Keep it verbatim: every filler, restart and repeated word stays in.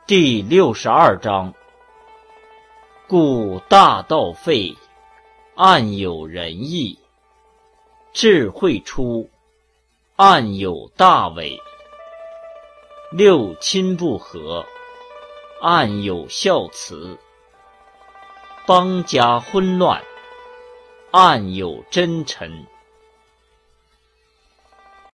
第六十二章，故大道废，暗有仁义；智慧出，暗有大伪。六亲不和，暗有孝慈；邦家昏乱，暗有真臣。